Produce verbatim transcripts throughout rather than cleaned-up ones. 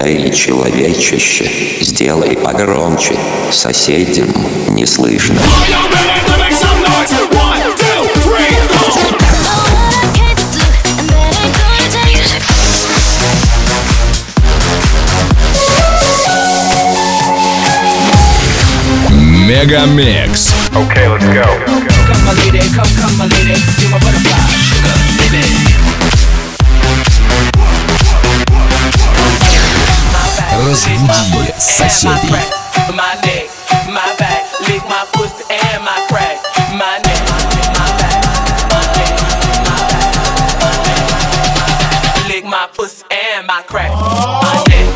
Эй, человечище, сделай погромче, соседям не слышно. Мегамикс. Okay, let's go. Come my lady, come, come my lady, you're my butterfly, sugar, baby. Разбуди соседей. My neck, my back, lick my pussy and my crack. My neck, my back, my neck, my back, my neck, my back, lick my pussy and my crack. My neck.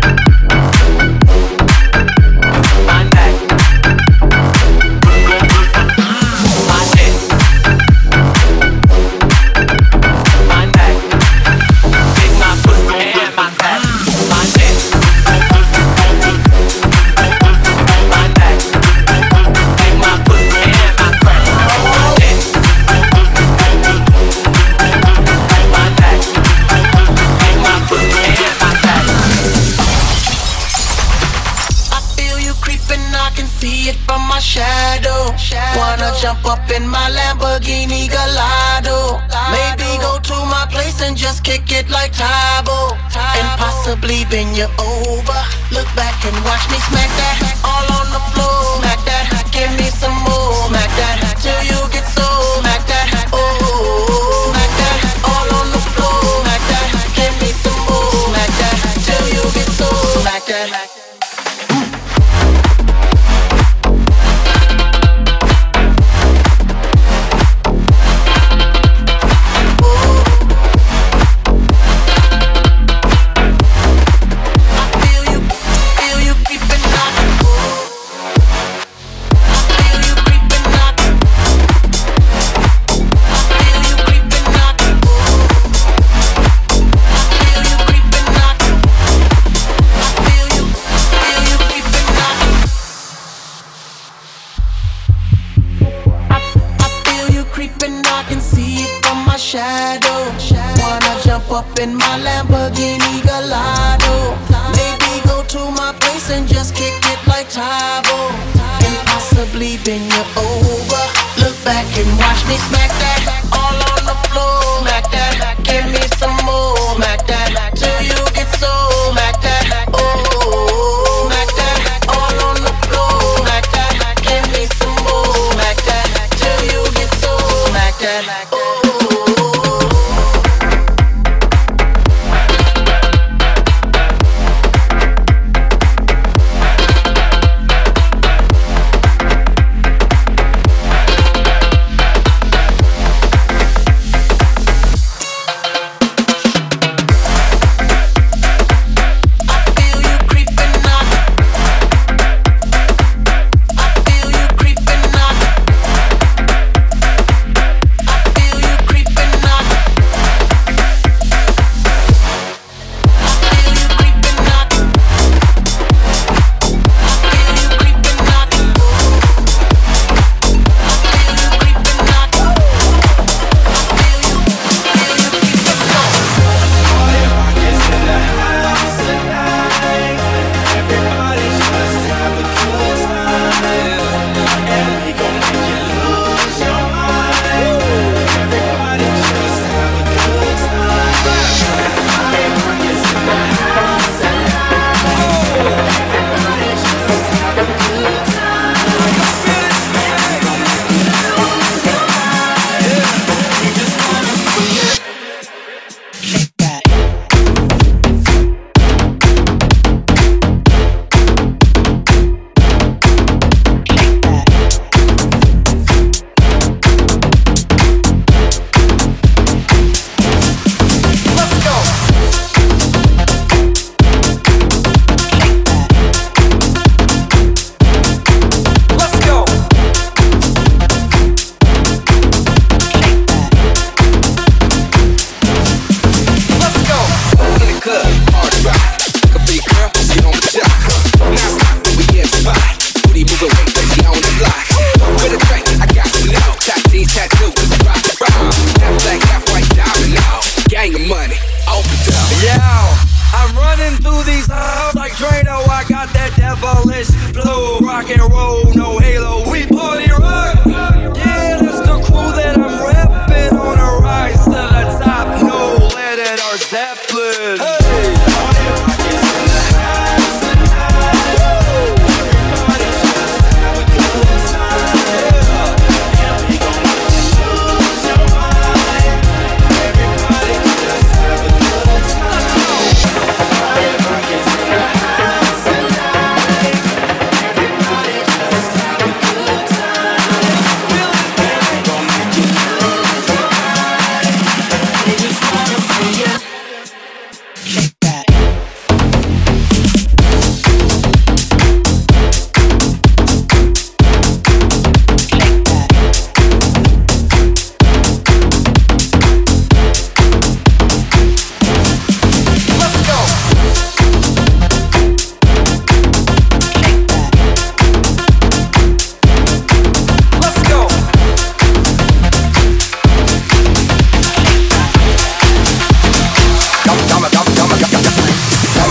Jump up in my Lamborghini Gallardo. Maybe go to my place and just kick it like Tybo. And possibly bend you over. Look back and watch me smack that all on the floor. Smack that, give me some more. Smack that till you get so. Smack that, oh. Smack that all on the floor. Smack that, give me some more. Smack that till you get so. Smack that. Up in my Lamborghini Gallardo. Maybe go to my place and just kick it like Tybo. And possibly bend you over. Look back and watch me smack that all on the floor. Smack that, give me some more. Smack that till you get so. Smack that, oh. Smack that all on the floor. Smack that, give me some more. Smack that till you get so. Smack that, oh.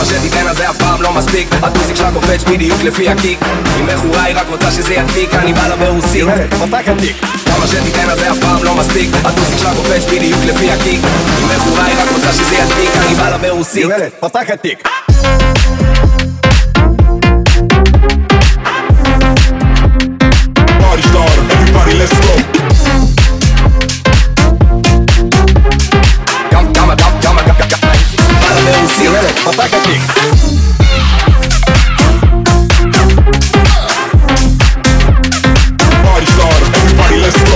כמה שתיתן אז זה אף פעם לא מספיק. הטוסיק שלה קופץ בדיוק לפי הקיק. היא מכורה, היא רק רוצה שזה ידביק. אני בא לה ברוסית, פתח התיק. כמה שתיתן אז זה אף פעם לא מספיק. הטוסיק שלה קופץ בדיוק לפי הקיק. היא מכורה, היא רק רוצה שזה ידביק. אני בא לה ברוסית, פתח התיק. Party starter, everybody let's go. Come, come, come, come, come, come, come. בא לה ברוסית, פתח התיק. Party starter, everybody let's go.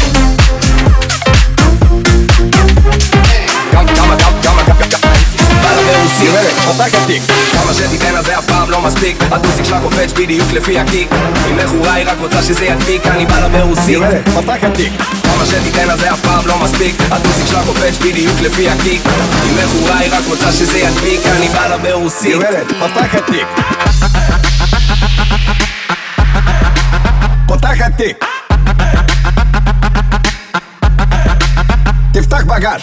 Come, come, come, come, come, come. בא לה ברוסית, פתח התיק. כמה שתיתן אז זה אף פעם לא מספיק. הטוסיק שלה קופץ בדיוק לפי הקיק. היא מכורה, היא רק רוצה שזה ידביק. אני בא לה ברוסית, פתח התיק. כמה שתיתן אז זה אף פעם לא מספיק. הטוסיק שלה קופץ בדיוק לפי הקיק. היא מכורה, היא רק רוצה שזה ידביק. אני בא לה ברוסית, פתח התיק. פתח התיק. תפתח בגז.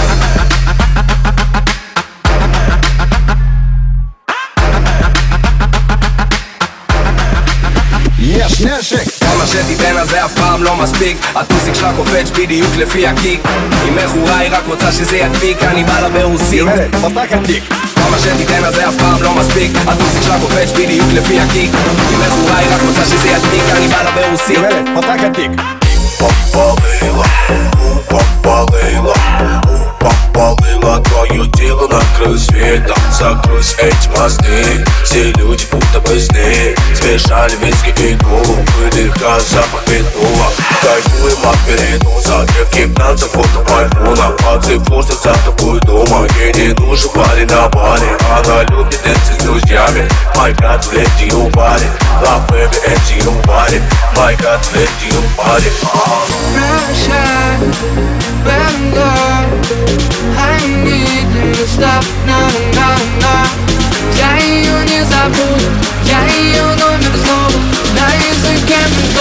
יש נשק. כמה שתיתן אז זה אף פעם לא מספיק. הטוסיק שלה קופץ בדיוק לפי הקיק. היא מכורה, היא רק רוצה שזה ידביק. אני בא לה ברוסית, פתח התיק. כמה שתיתן אז זה אף פעם לא מספיק. הטוסיק שלה קופץ בדיוק לפי הקיק. היא מכורה, היא רק רוצה שזה ידביק. אני בא לה ברוסית, פתח התיק. Попалила, попалила, попалила твое тело на краю света. Закройся эти мосты, все люди будто бы сны. Смешали виски и колу, выдыха запах петула. Кайфуем от перенуса, девки танцев фото айфона. Пацаны просто за тобой дома, ей не нужен парень на баре. Она любит танцы с друзьями, my god, let you party. Love baby, and you party, my god, let you party. Pressure, burn love. I need you to stop, no, no, no. Я ее не забуду, я ее номер снова на языке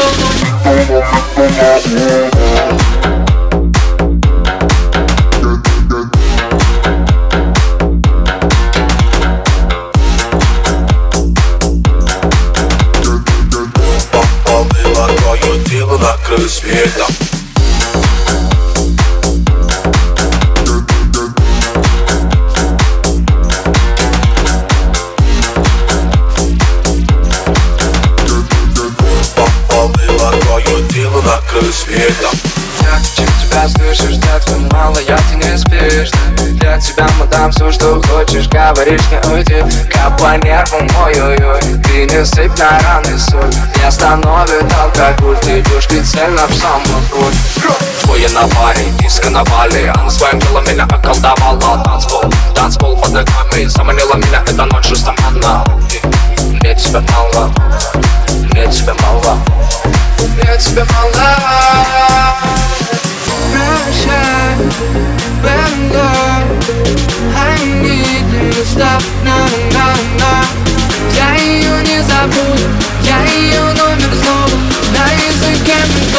Попалила твое тело на краю света. На краю света. Я хочу тебя слышишь, детка, мало я ты не спишь. Для тебя мы дам все, что хочешь, говоришь не уйди. Как по нервам, ой-ой-ой, ты не сыпь на раны соль. Не остановит алкоголь, ты идешь прицельно в самую грудь. Двое на паре, диско на Бали. Она своим телом меня околдовала. Танцпол, танцпол под ногами. Заманила меня эта ночь жестоманно. Мне тебя мало, мне тебя мало. Я тебя мало. Pressure, burn love. I need you to stop, no, no, no. Я ее не забуду, я ее номер снова на языке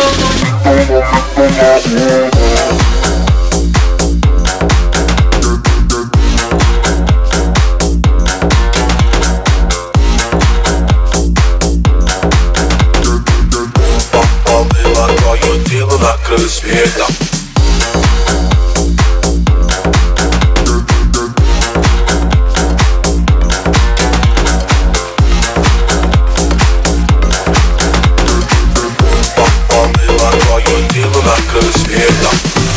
Твое тело на краю света. Попалила твое тело на краю света.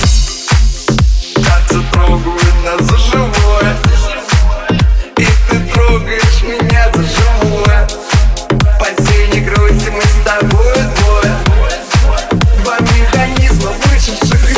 Танцы трогают нас за живое, и ты трогаешь меня за живое. Под синей грусти мы с тобой двое. Два механизма вышедших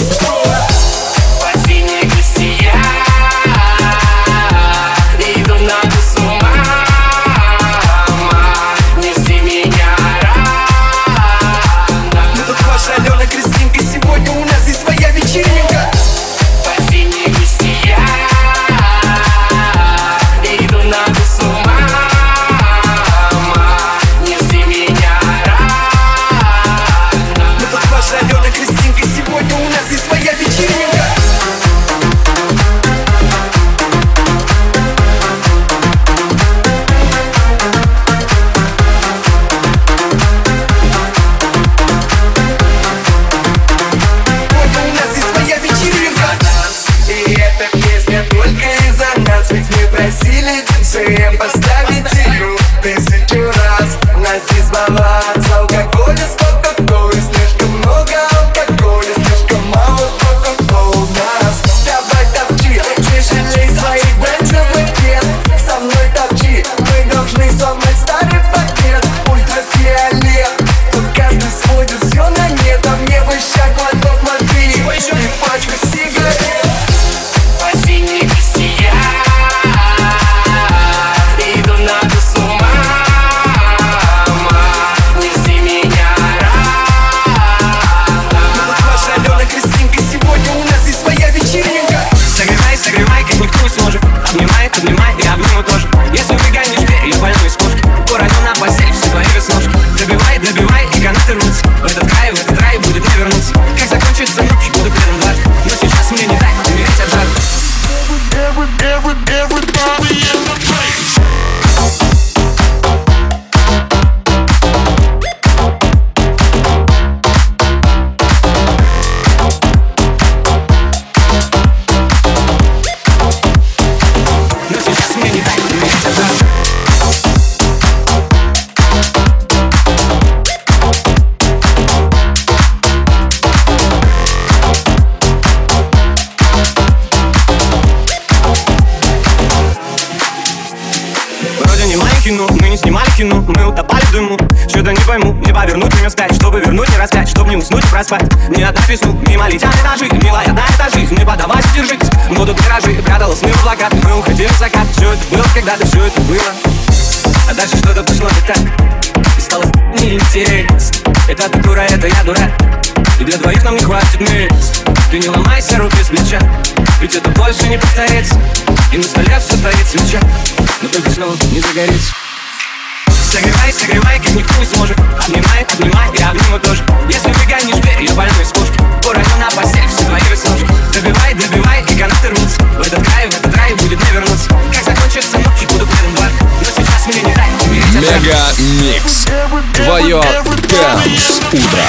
кино, мы не снимали кино, мы утопали в дыму. Что-то не пойму, не повернуть меня вспять, чтобы вернуть, не распять, чтобы не уснуть и проспать. Ни одна весну, мимо летят этажи, милая, да это жизнь, не подавайся, держись. Будут гаражи, прятала сны в облаках, мы уходили в закат. Все это было, когда-то все это было. А дальше что-то пошло не так, и стало неинтересно. Это ты дура, это я дурак, и для двоих нам не хватит мест. Ты не ломайся, руки с плеча, ведь это больше не повторится. И на столе все стоит свеча, но только снова не загорится. Согревай, согревай, как никто не сможет. Обнимай, обнимай, я обниму тоже. Если выгонишь дверь, я больной с кошки, уроню на постель все твои веснушки. Добивай, добивай, и канаты рвутся. В этот край, в этот рай будет не вернуться. Как закончится ночь, буду предан бар, но сейчас мне не дай умереть от жара. Мега Микс. Твое Dance утро.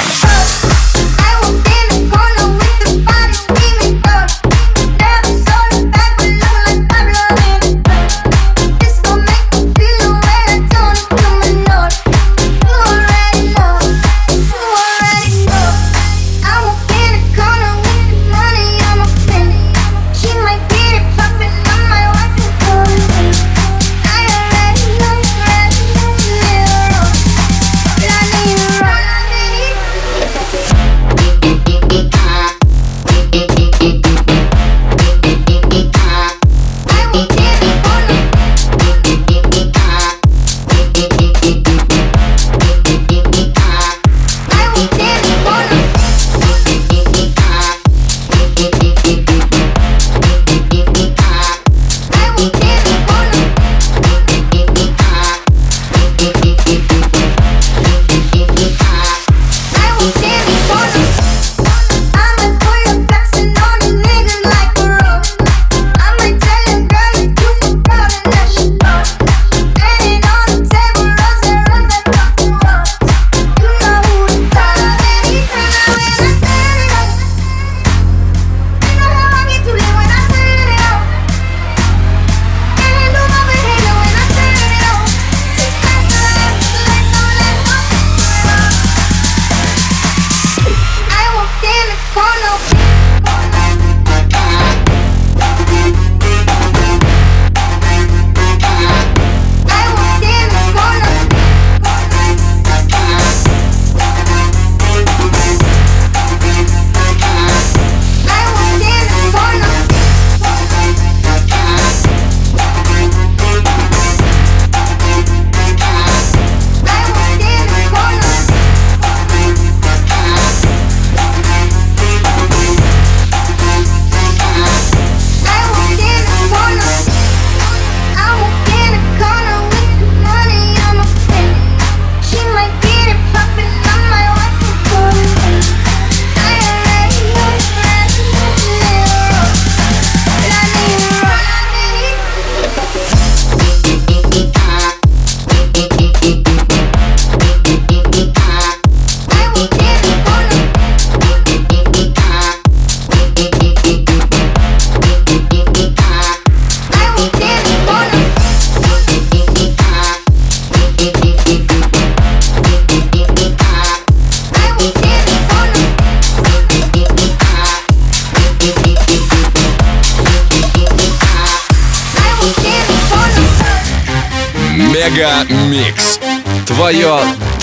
Мега Микс. Твое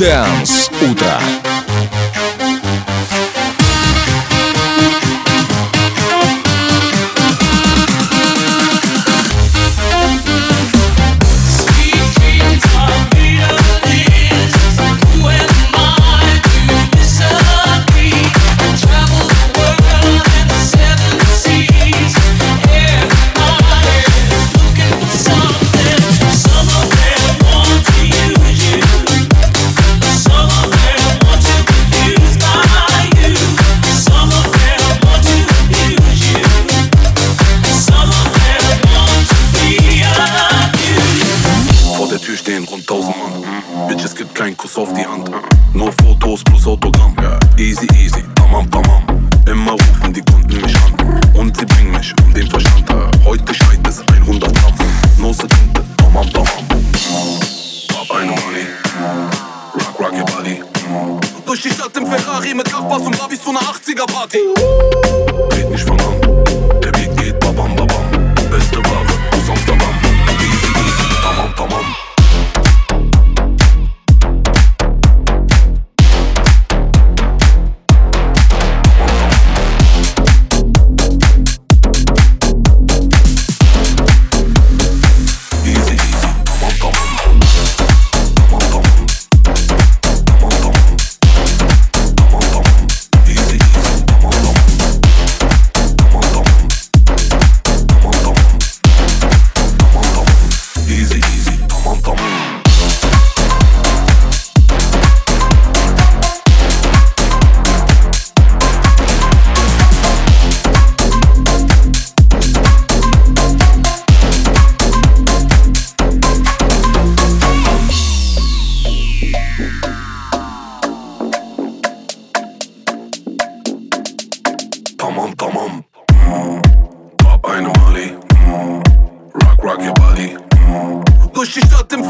Dance утро. Auf die Hand, nur Fotos plus Autogramm. Easy, easy, tamam, tamam. Immer rufen die Kunden mich an und sie bringen mich um den Verstand. Heute schreit es hundert Gramm, no Sekunde, tamam, tamam. Hab eine Money, rock, rock your body. Durch die Stadt im Ferrari mit Kraftbass und Babys zu einer achtziger Party. Red nicht von an, der Beat geht babam, babam. Beste Ware aus Amsterdam. Easy, easy, tamam, tamam.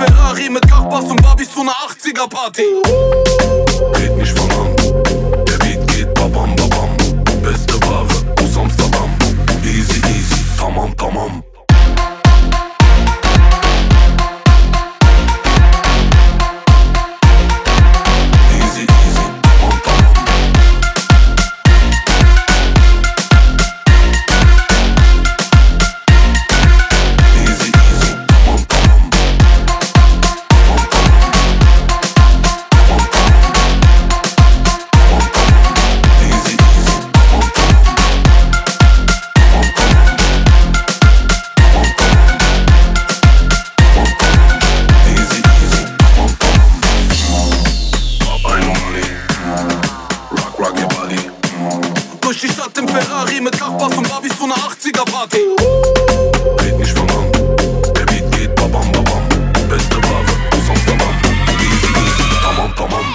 Ferrari mit Kachbass und Barbies zu ner achtziger Party. Red nicht von Hand, der Beat geht babam babam. Beste Ware aus Amsterdam. Easy easy, tamam tamam. Durch die Stadt im Ferrari mit Kachbass und Barbies zu ner achtziger Party. Red nicht von Hand, der Beat geht babam babam. Beste Ware aus Amsterdam. Easy easy, tamam tamam.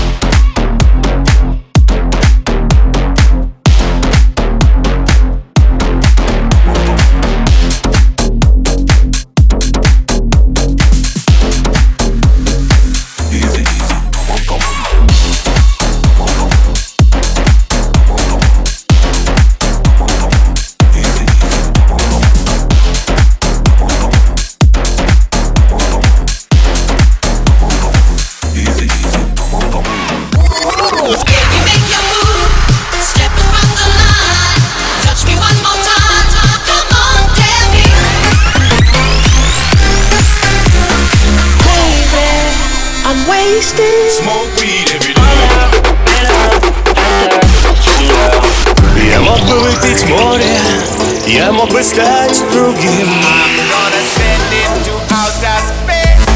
Smoke weed every day. Я мог бы выпить море, я мог бы стать другим. I'm gonna send it to outer space.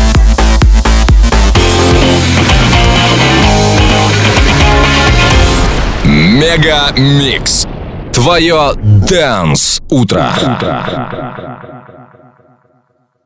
Мега Микс. Твое Dance утро.